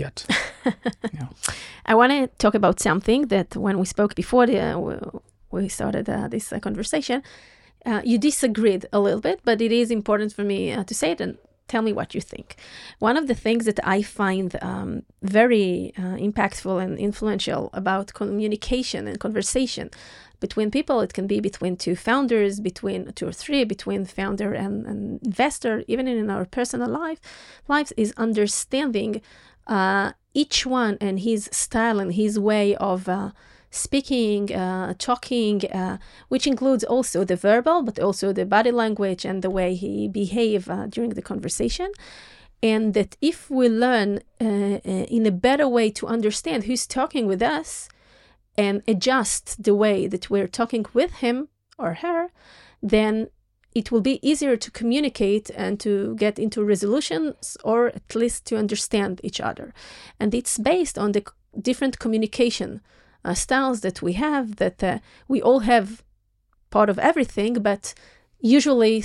Yeah. I want to talk about something that when we spoke before we started this conversation, you disagreed a little bit, but it is important for me to say it and tell me what you think. One of the things that I find very impactful and influential about communication and conversation between people, it can be between two founders, between two or three, between founder and investor, even in our personal lives, is understanding each one and his style and his way of speaking, talking, which includes also the verbal, but also the body language and the way he behave during the conversation. And that if we learn in a better way to understand who's talking with us and adjust the way that we're talking with him or her, then it will be easier to communicate and to get into resolutions, or at least to understand each other. And it's based on the different communication styles that we have, that we all have part of everything, but usually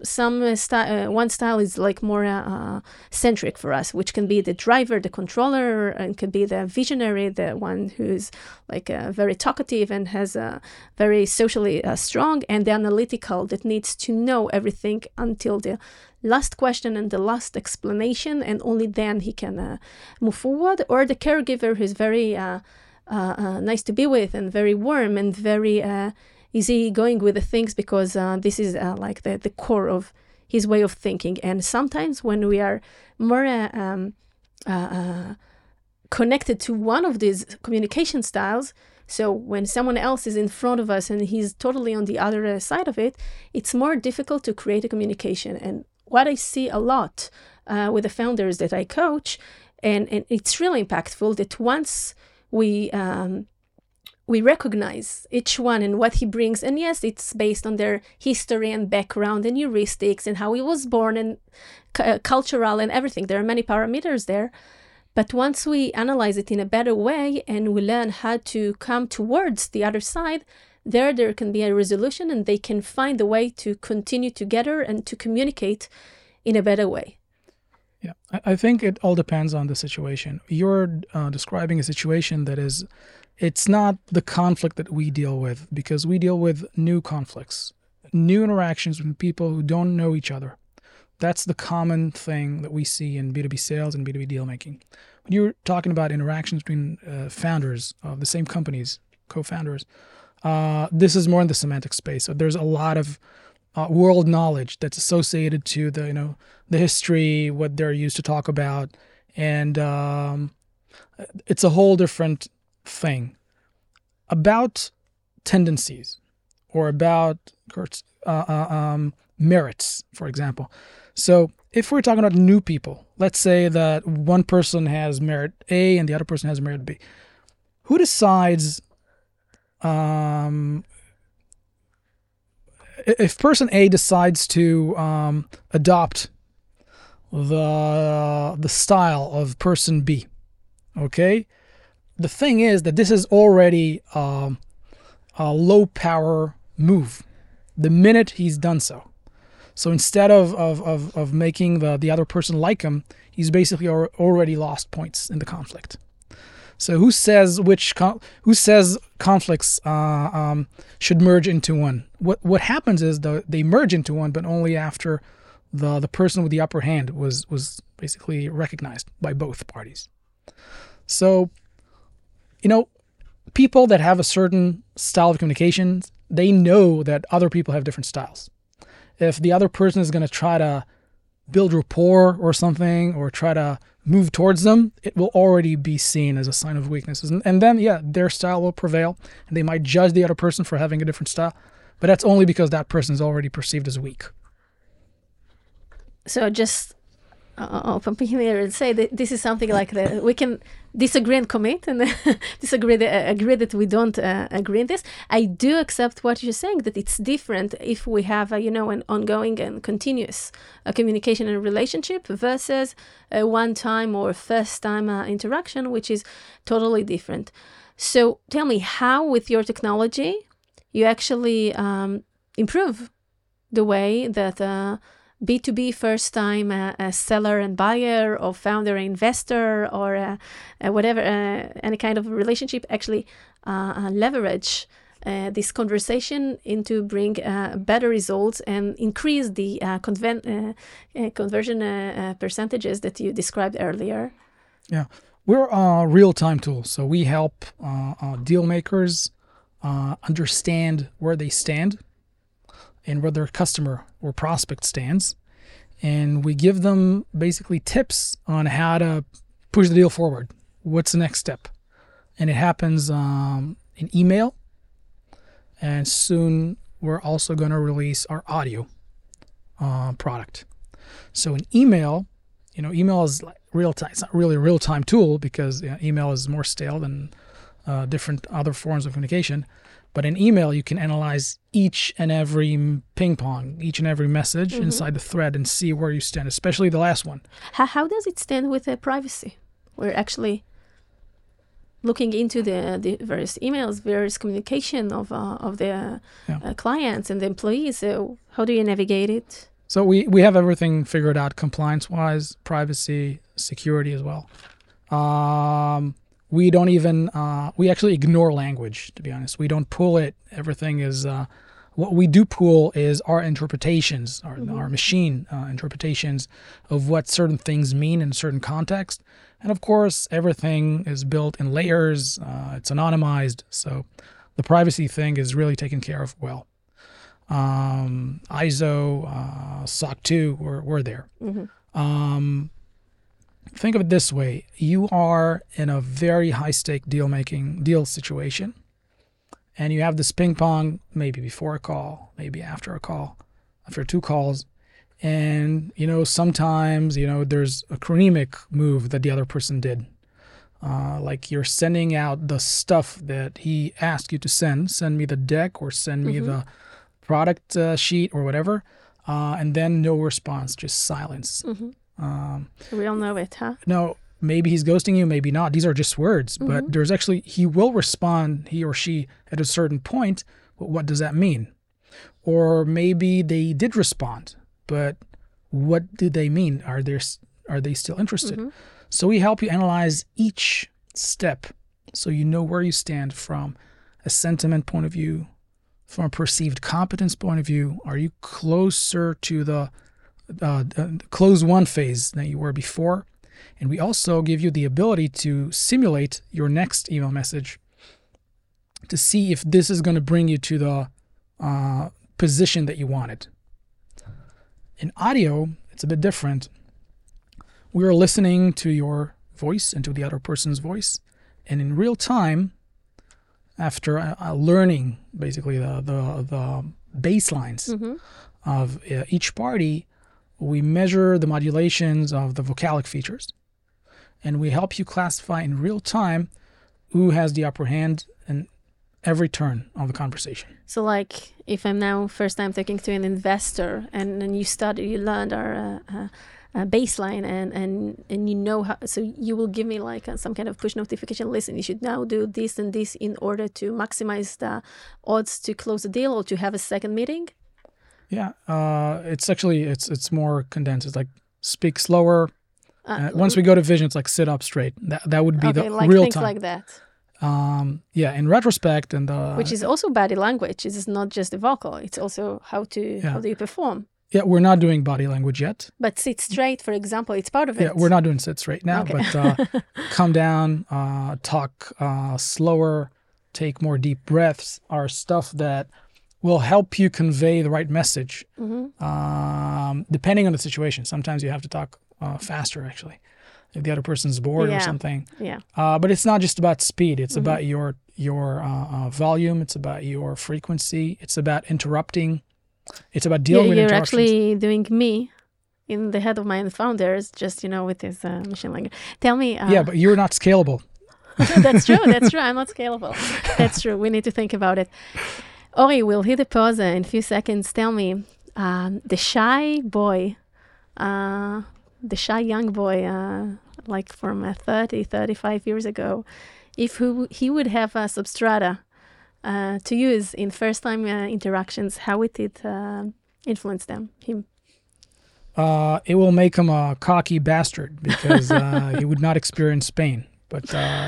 one style is like more centric for us, which can be the driver, the controller, and can be the visionary, the one who's like very talkative and has very socially strong, and the analytical that needs to know everything until the last question and the last explanation, and only then he can move forward. Or the caregiver who's very nice to be with and very warm and very easy going with the things, because this is like the core of his way of thinking. And sometimes when we are more connected to one of these communication styles, so when someone else is in front of us and he's totally on the other side of it, it's more difficult to create a communication. And what I see a lot with the founders that I coach, and it's really impactful, that once we recognize each one and what he brings. And yes, it's based on their history and background and heuristics and how he was born and cultural and everything. There are many parameters there. But once we analyze it in a better way and we learn how to come towards the other side, there can be a resolution, and they can find a way to continue together and to communicate in a better way. Yeah, I think it all depends on the situation. You're describing a situation that is, it's not the conflict that we deal with, because we deal with new conflicts, new interactions with people who don't know each other. That's the common thing that we see in B2B sales and B2B deal making. When you're talking about interactions between founders of the same companies, co-founders, this is more in the semantic space. So there's a lot of world knowledge that's associated to the history, what they're used to talk about, and it's a whole different thing. About tendencies or about merits, for example. So if we're talking about new people, let's say that one person has merit A and the other person has merit B. Who decides if person A decides to adopt the style of person B? Okay, the thing is that this is already a low power move the minute he's done so. So instead of making the other person like him, he's basically already lost points in the conflict. So who says conflicts should merge into one? What happens is they merge into one, but only after the person with the upper hand was basically recognized by both parties. So, people that have a certain style of communication, they know that other people have different styles. If the other person is going to try to build rapport or something, or try to move towards them, it will already be seen as a sign of weaknesses. And then, their style will prevail, and they might judge the other person for having a different style, but that's only because that person is already perceived as weak. So just pumping here and say that this is something like that we can disagree and commit, and agree that we don't agree in this. I do accept what you're saying, that it's different if we have an ongoing and continuous communication and relationship versus a one-time or first-time interaction, which is totally different. So tell me, how with your technology you actually improve the way that B2B first-time seller and buyer, or founder and investor, or whatever, any kind of relationship actually leverage this conversation into bring better results and increase the conversion percentages that you described earlier. Yeah, we're a real-time tool, so we help deal makers understand where they stand and where their customer or prospect stands. And we give them basically tips on how to push the deal forward. What's the next step? And it happens in email. And soon we're also going to release our audio product. So in email, email is like real time. It's not really a real time tool because email is more stale than different other forms of communication. But in email, you can analyze each and every ping pong, each and every message inside the thread and see where you stand, especially the last one. How does it stand with privacy? We're actually looking into the various emails, various communication of the clients and the employees. So how do you navigate it? So we have everything figured out compliance-wise, privacy, security as well. We don't even, we actually ignore language, to be honest. We don't pull it. Everything is, what we do pull is our interpretations, our machine interpretations of what certain things mean in a certain context. And of course, everything is built in layers. It's anonymized. So the privacy thing is really taken care of well. ISO, SOC 2, we're there. Think of it this way. You are in a very high-stake deal situation, and you have this ping pong maybe before a call, maybe after a call, after two calls, and, sometimes, there's a chronemic move that the other person did. Like you're sending out the stuff that he asked you to send me the deck or send me the product sheet or whatever, and then no response, just silence. We all know it, huh? No, maybe he's ghosting you, maybe not. These are just words, but there's actually, he will respond, he or she, at a certain point. But what does that mean? Or maybe they did respond, but what do they mean? Are they still interested? So we help you analyze each step so you know where you stand from a sentiment point of view, from a perceived competence point of view. Are you closer to the close one phase than you were before. And we also give you the ability to simulate your next email message to see if this is going to bring you to the position that you wanted. In audio, it's a bit different. We are listening to your voice and to the other person's voice. And in real time, after learning basically the baselines of each party, we measure the modulations of the vocalic features. And we help you classify in real time who has the upper hand in every turn of the conversation. So like if I'm now first time talking to an investor and then you learned our baseline and you know how, so you will give me like some kind of push notification, listen, you should now do this and this in order to maximize the odds to close a deal or to have a second meeting? Yeah, it's actually, it's more condensed. It's like speak slower. Once we go to vision, it's like sit up straight. That would be the like real things time. like that. Yeah, in retrospect, and which is also body language. It is not just the vocal. It's also how do you perform. Yeah, we're not doing body language yet. But sit straight, for example, it's part of it. Yeah, we're not doing sit straight now, but come down, talk slower, take more deep breaths are stuff that will help you convey the right message, depending on the situation. Sometimes you have to talk faster, actually, if the other person's bored or something. Yeah. But it's not just about speed. It's about your volume. It's about your frequency. It's about interrupting. It's about dealing with interruptions. You're actually doing me in the head of my founders, just, with this machine language. Tell me. Yeah, but you're not scalable. That's true. I'm not scalable. That's true. We need to think about it. Ori, we'll hit the pause in a few seconds. Tell me, the shy boy, the shy young boy, like from 35 years ago, if he would have a Substrata to use in first-time interactions, how would it influence him? It will make him a cocky bastard because he would not experience pain. But,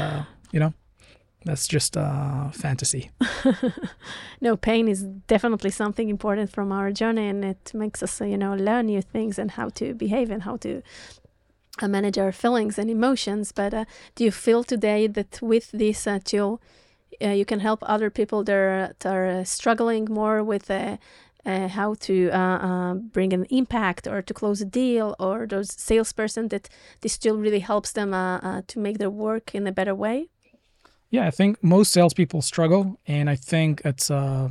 that's just fantasy. No, pain is definitely something important from our journey, and it makes us, learn new things and how to behave and how to manage our feelings and emotions. But do you feel today that with this tool, you can help other people that are struggling more with how to bring an impact or to close a deal, or those salesperson that this tool really helps them to make their work in a better way? Yeah, I think most salespeople struggle, and I think it's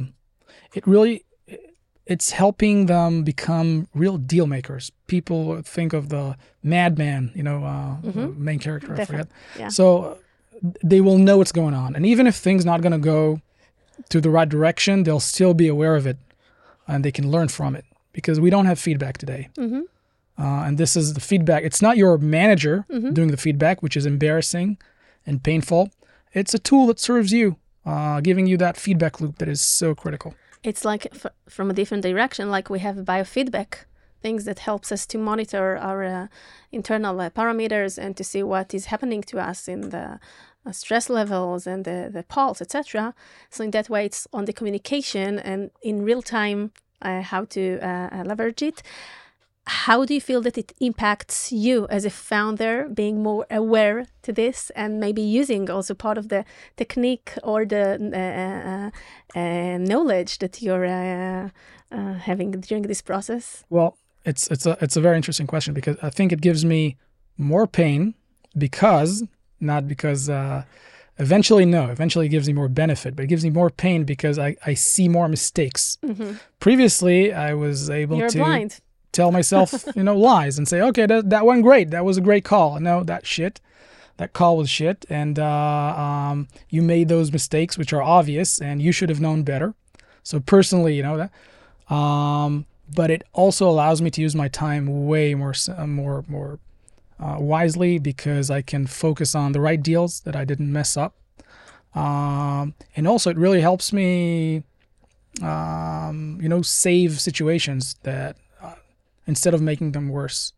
helping them become real deal makers. People think of the madman, the main character, I forget. Yeah. So they will know what's going on, and even if things not going to go to the right direction, they'll still be aware of it, and they can learn from it because we don't have feedback today. And this is the feedback. It's not your manager doing the feedback, which is embarrassing and painful. It's a tool that serves you, giving you that feedback loop that is so critical. It's like from a different direction, like we have biofeedback, things that helps us to monitor our internal parameters and to see what is happening to us in the stress levels and the pulse, etc. So in that way, it's on the communication and in real time how to leverage it. How do you feel that it impacts you as a founder, being more aware to this and maybe using also part of the technique or the knowledge that you're having during this process? Well, it's a very interesting question because I think it gives me more pain not because eventually it gives me more benefit, but it gives me more pain because I see more mistakes. Previously, I was able You're to... blind. Tell myself, lies and say, okay, that went great. That was a great call. No, that call was shit. And you made those mistakes, which are obvious, and you should have known better. So personally, that. But it also allows me to use my time way more wisely because I can focus on the right deals that I didn't mess up. And also it really helps me, save situations that, instead of making them worse.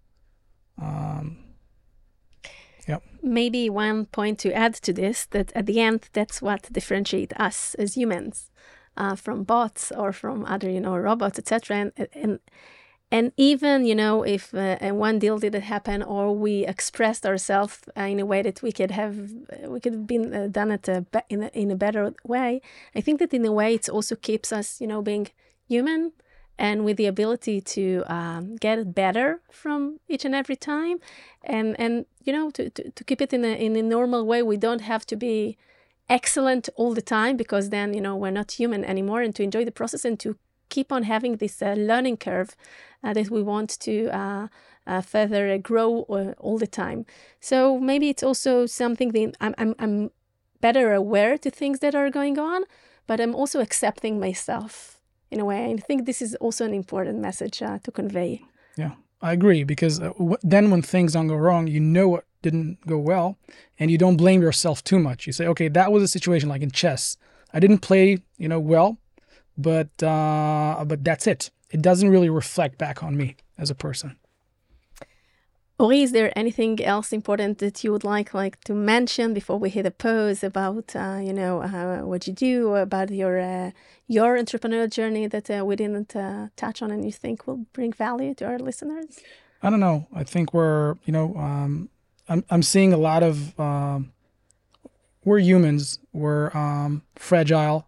Maybe one point to add to this, that at the end, that's what differentiates us as humans from bots or from other, robots, etc. And even, if one deal didn't happen, or we expressed ourselves in a way that we could have been done it in a better way, I think that in a way it also keeps us, being human and with the ability to get better from each and every time, and to keep it in a normal way. We don't have to be excellent all the time, because then we're not human anymore, and to enjoy the process and to keep on having this learning curve that we want to further grow all the time. So maybe it's also something that I'm better aware to things that are going on, but I'm also accepting myself in a way. And I think this is also an important message to convey. Yeah, I agree, because then when things don't go wrong, what didn't go well, and you don't blame yourself too much. You say, okay, that was a situation like in chess. I didn't play, well, but that's it. It doesn't really reflect back on me as a person. Ori, is there anything else important that you would like to mention before we hit a pause about what you do, about your entrepreneurial journey that we didn't touch on and you think will bring value to our listeners? I don't know. I think we're I'm seeing a lot of we're humans. We're fragile.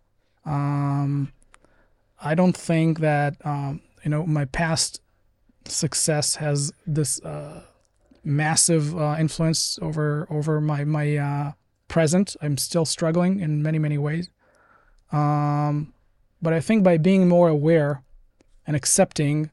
I don't think that my past success has this massive influence over my present. I'm still struggling in many ways, but I think by being more aware and accepting,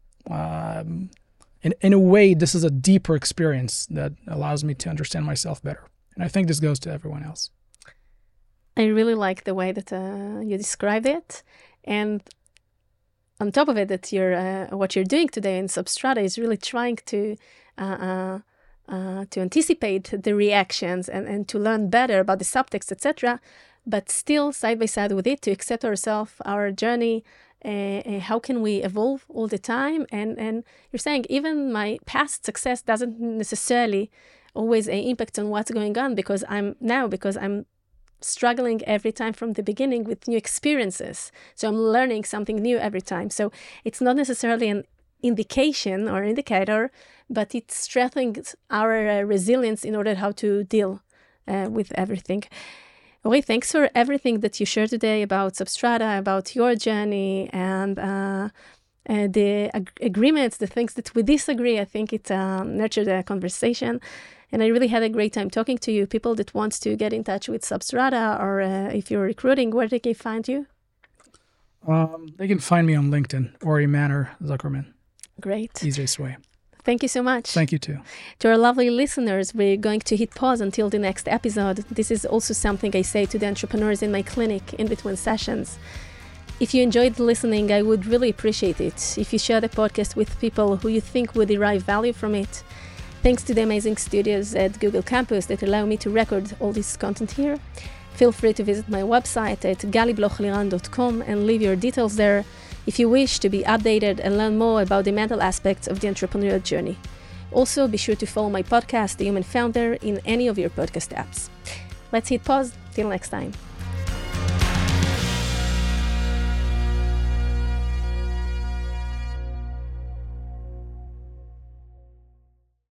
in a way, this is a deeper experience that allows me to understand myself better. And I think this goes to everyone else. I really like the way that you described it. And on top of it, that what you're doing today in Substrata is really trying to anticipate the reactions and to learn better about the subtext, etc. But still, side by side with it, to accept ourselves, our journey, how can we evolve all the time? And you're saying even my past success doesn't necessarily always impact on what's going on, because I'm struggling every time from the beginning with new experiences. So I'm learning something new every time. So it's not necessarily an indication or indicator, but it strengthens our resilience in order how to deal with everything. Ori, thanks for everything that you shared today about Substrata, about your journey, and the agreements, the things that we disagree. I think it nurtured a conversation. And I really had a great time talking to you. People that want to get in touch with Substrata, or if you're recruiting, where they can find you? They can find me on LinkedIn, Ori Manor Zuckerman. Great. Easiest way. Thank you so much. Thank you too. To our lovely listeners, we're going to hit pause until the next episode. This is also something I say to the entrepreneurs in my clinic in between sessions. If you enjoyed listening, I would really appreciate it if you share the podcast with people who you think would derive value from it. Thanks to the amazing studios at Google Campus that allow me to record all this content here. Feel free to visit my website at galiblochliran.com and leave your details there if you wish to be updated and learn more about the mental aspects of the entrepreneurial journey. Also, be sure to follow my podcast, The Human Founder, in any of your podcast apps. Let's hit pause. Till next time.